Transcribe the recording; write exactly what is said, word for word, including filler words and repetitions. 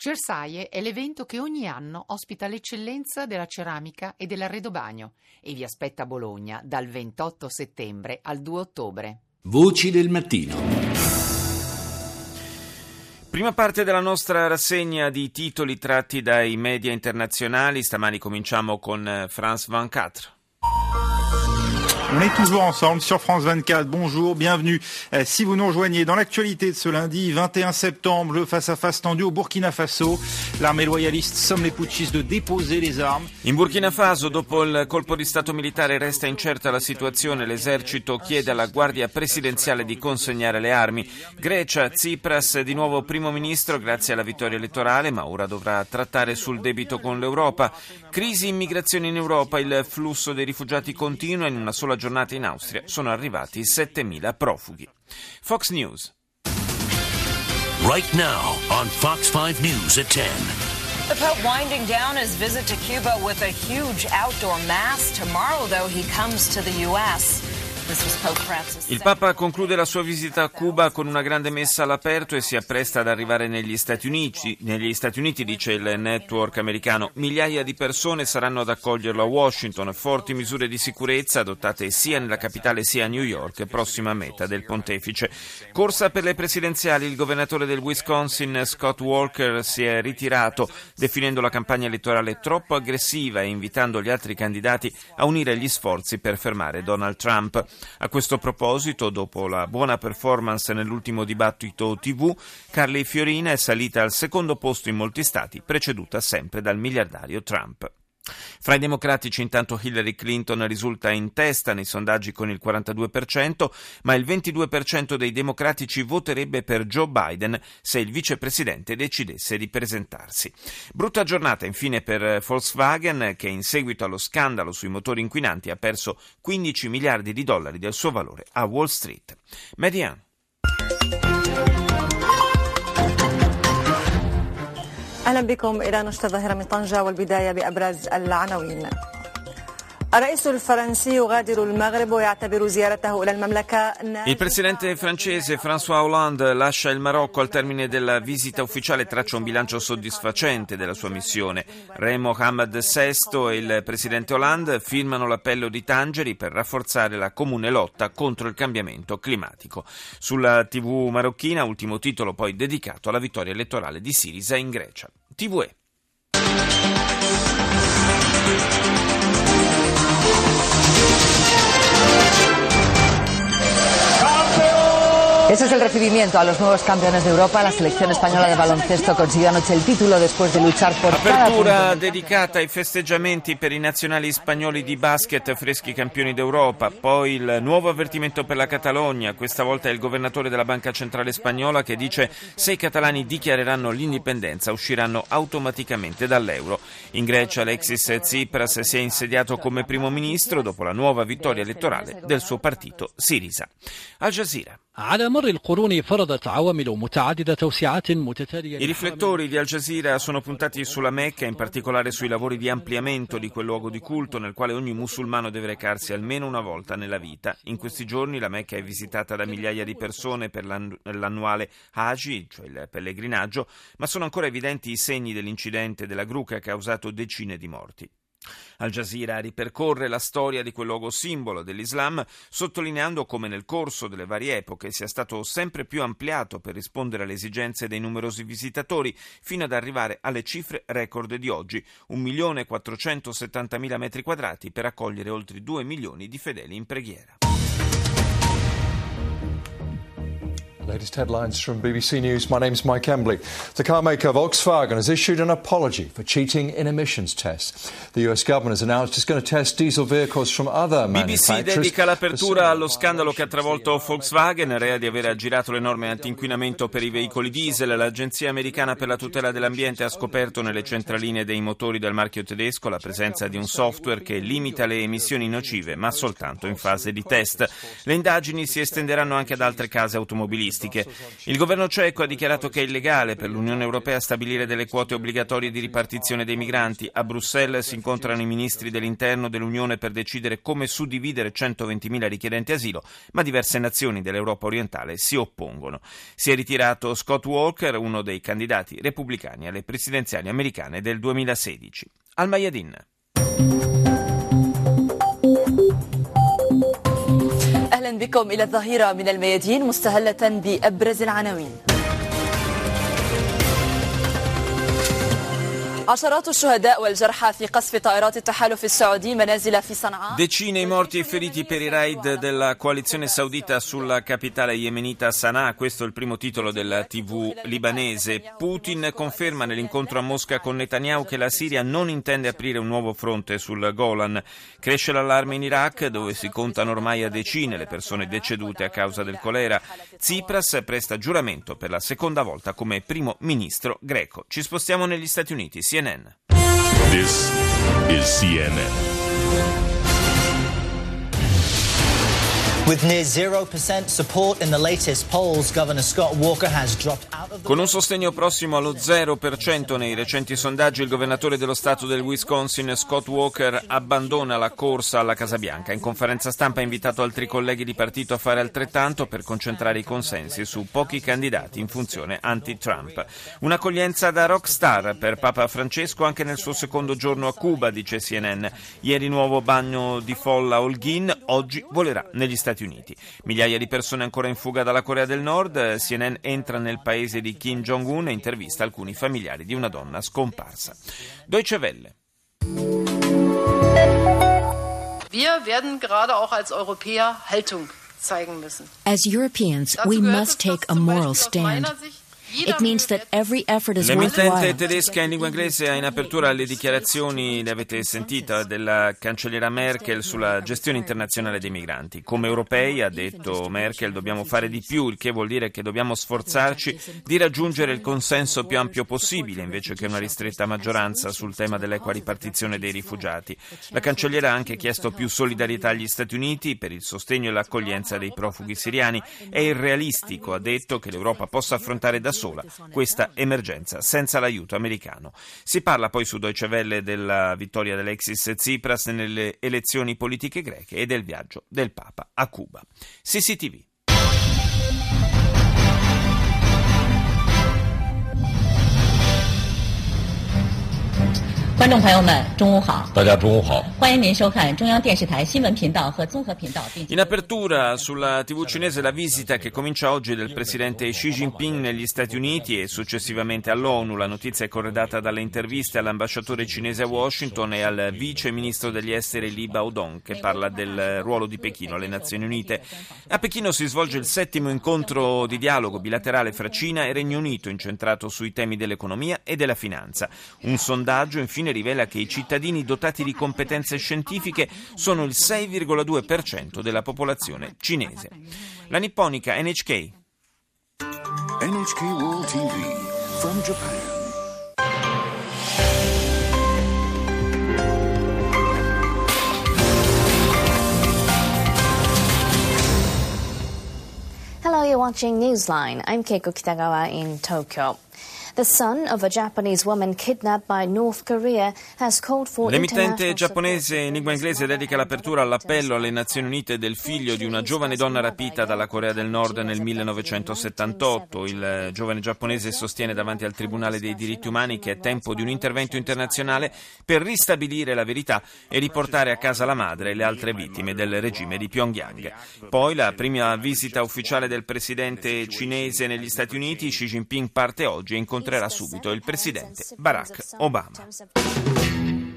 Cersaie è l'evento che ogni anno ospita l'eccellenza della ceramica e dell'arredobagno e vi aspetta a Bologna dal ventotto settembre al due ottobre. Voci del mattino. Prima parte della nostra rassegna di titoli tratti dai media internazionali. Stamani cominciamo con France ventiquattro. On est toujours ensemble sur France vingt-quatre. Bonjour, bienvenue. Euh, si vous nous rejoignez dans l'actualité de ce lundi vingt et un septembre, le face-à-face tendu au Burkina Faso. L'armée loyaliste somme les putschistes de déposer les armes. In Burkina Faso, dopo il colpo di stato militare, resta incerta la situazione. L'esercito chiede alla Guardia Presidenziale di consegnare le armi. Grecia, Tsipras di nuovo primo ministro grazie alla vittoria elettorale, ma ora dovrà trattare sul debito con l'Europa. Crisi immigrazione in Europa, il flusso dei rifugiati continua. In una sola giornata in Austria sono arrivati settemila profughi. Fox News. Right now on Fox five News at ten. The Pope winding down his visit to Cuba with a huge outdoor mass. Tomorrow, though, he comes to the U S Il Papa conclude la sua visita a Cuba con una grande messa all'aperto e si appresta ad arrivare negli Stati Uniti, negli Stati Uniti, dice il network americano. Migliaia di persone saranno ad accoglierlo a Washington, forti misure di sicurezza adottate sia nella capitale sia a New York, prossima meta del pontefice. Corsa per le presidenziali, il governatore del Wisconsin, Scott Walker, si è ritirato, definendo la campagna elettorale troppo aggressiva e invitando gli altri candidati a unire gli sforzi per fermare Donald Trump. A questo proposito, dopo la buona performance nell'ultimo dibattito tivù, Carly Fiorina è salita al secondo posto in molti stati, preceduta sempre dal miliardario Trump. Fra i democratici intanto Hillary Clinton risulta in testa nei sondaggi con il quarantadue per cento, ma il ventidue per cento dei democratici voterebbe per Joe Biden se il vicepresidente decidesse di presentarsi. Brutta giornata infine per Volkswagen, che in seguito allo scandalo sui motori inquinanti ha perso quindici miliardi di dollari del suo valore a Wall Street. Median. أهلا بكم إلى نشرة الظاهرة من طنجة والبداية بأبرز العناوين. الرئيس الفرنسي يغادر المغرب ويعتبر زيارته إلى المملكة. Il presidente francese François Hollande lascia il Marocco al termine della visita ufficiale e traccia un bilancio soddisfacente della sua missione. Re Mohammed sesto e il presidente Hollande firmano l'appello di Tangeri per rafforzare la comune lotta contro il cambiamento climatico. Sulla tivù marocchina, ultimo titolo poi dedicato alla vittoria elettorale di Syriza in Grecia. T V E. Ese es el recibimiento a los nuevos campeones de Europa. La selección española de baloncesto consiguió anoche il titolo después de luchar por cada punto. Apertura dedicata ai festeggiamenti per i nazionali spagnoli di basket, freschi campioni d'Europa. Poi il nuovo avvertimento per la Catalogna. Questa volta è il governatore della Banca Centrale Spagnola che dice: se i catalani dichiareranno l'indipendenza usciranno automaticamente dall'euro. In Grecia Alexis Tsipras si è insediato come primo ministro dopo la nuova vittoria elettorale del suo partito Syriza. Al Jazeera. على مر القرون فرضت عوامل متعددة توسعات متتالية. I riflettori di Al Jazeera sono puntati sulla Mecca, in particolare sui lavori di ampliamento di quel luogo di culto nel quale ogni musulmano deve recarsi almeno una volta nella vita. In questi giorni la Mecca è visitata da migliaia di persone per l'annuale Hajj, cioè il pellegrinaggio, ma sono ancora evidenti i segni dell'incidente della gru che ha causato decine di morti. Al Jazeera ripercorre la storia di quel luogo simbolo dell'Islam, sottolineando come nel corso delle varie epoche sia stato sempre più ampliato per rispondere alle esigenze dei numerosi visitatori, fino ad arrivare alle cifre record di oggi, un milione quattrocentosettantamila metri quadrati per accogliere oltre due milioni di fedeli in preghiera. Latest headlines from B B C News. My name's Mike Embley. The car maker Volkswagen has issued an apology for cheating in emissions tests. The U S government has announced it's going to test diesel vehicles from other manufacturers. B B C dedica l'apertura allo scandalo che ha travolto Volkswagen, rea di aver aggirato le norme anti-inquinamento per i veicoli diesel. L'Agenzia americana per la tutela dell'ambiente ha scoperto nelle centraline dei motori del marchio tedesco la presenza di un software che limita le emissioni nocive, ma soltanto in fase di test. Le indagini si estenderanno anche ad altre case automobilistiche. turistiche. Il governo ceco ha dichiarato che è illegale per l'Unione Europea stabilire delle quote obbligatorie di ripartizione dei migranti. A Bruxelles si incontrano i ministri dell'interno dell'Unione per decidere come suddividere centoventimila richiedenti asilo, ma diverse nazioni dell'Europa orientale si oppongono. Si è ritirato Scott Walker, uno dei candidati repubblicani alle presidenziali americane del duemilasedici. Al Mayadin. أهلا بكم إلى الظهيرة من الميادين مستهلة بأبرز العناوين. Decine i morti e feriti per i raid della coalizione saudita sulla capitale yemenita Sana'a, questo è il primo titolo della tivù libanese. Putin conferma nell'incontro a Mosca con Netanyahu che la Siria non intende aprire un nuovo fronte sul Golan. Cresce l'allarme in Iraq, dove si contano ormai a decine le persone decedute a causa del colera. Tsipras presta giuramento per la seconda volta come primo ministro greco. Ci spostiamo negli Stati Uniti. C N N. This is C N N. With near zero percent support in the latest polls, Governor Scott Walker has dropped out of the... Con un sostegno prossimo allo zero per cento nei recenti sondaggi, il governatore dello stato del Wisconsin, Scott Walker, abbandona la corsa alla Casa Bianca. In conferenza stampa ha invitato altri colleghi di partito a fare altrettanto per concentrare i consensi su pochi candidati in funzione anti-Trump. Un'accoglienza da rockstar per Papa Francesco anche nel suo secondo giorno a Cuba, dice C N N. Ieri nuovo bagno di folla a Holguín, oggi volerà negli Stati Uniti. Migliaia di persone ancora in fuga dalla Corea del Nord. C N N entra nel paese di Kim Jong-un e intervista alcuni familiari di una donna scomparsa. Deutsche Welle. Wir werden gerade auch als Europäer Haltung zeigen müssen. As Europeans, we must take a moral stand. It means that every effort is L'emittente worthwhile. tedesca in lingua inglese ha in apertura le dichiarazioni, le avete sentite, della cancelliera Merkel sulla gestione internazionale dei migranti. Come europei, ha detto Merkel, dobbiamo fare di più, il che vuol dire che dobbiamo sforzarci di raggiungere il consenso più ampio possibile, invece che una ristretta maggioranza sul tema dell'equa ripartizione dei rifugiati. La cancelliera ha anche chiesto più solidarietà agli Stati Uniti per il sostegno e l'accoglienza dei profughi siriani. È irrealistico, ha detto, che l'Europa possa affrontare da sola questa emergenza senza l'aiuto americano. Si parla poi su Deutsche Welle della vittoria dell'Alexis Tsipras nelle elezioni politiche greche e del viaggio del Papa a Cuba. C C T V. 观众朋友们，中午好！ 大家中午好！ 欢迎您收看中央电视台新闻频道和综合频道。 In apertura sulla tivù cinese la visita che comincia oggi del presidente Xi Jinping negli Stati Uniti e successivamente all'ONU. La notizia è corredata dalle interviste all'ambasciatore cinese a Washington e al vice ministro degli esteri Li Baodong, che parla del ruolo di Pechino alle Nazioni Unite. A Pechino si svolge il settimo incontro di dialogo bilaterale fra Cina e Regno Unito, incentrato sui temi dell'economia e della finanza. Un sondaggio infine rivela che i cittadini dotati di competenze scientifiche sono il sei virgola due per cento della popolazione cinese. La nipponica N H K. N H K World T V from Japan. Hello, you're watching Newsline. I'm Keiko Kitagawa in Tokyo. The son of a Japanese woman kidnapped by North Korea has called for L'emittente giapponese in lingua inglese dedica l'apertura all'appello alle Nazioni Unite del figlio di una giovane donna rapita dalla Corea del Nord nel millenovecentosettantotto. Il giovane giapponese sostiene davanti al Tribunale dei diritti umani che è tempo di un intervento internazionale per ristabilire la verità e riportare a casa la madre e le altre vittime del regime di Pyongyang. Poi la prima visita ufficiale del presidente cinese negli Stati Uniti. Xi Jinping parte oggi e incontrerà subito il presidente Barack Obama.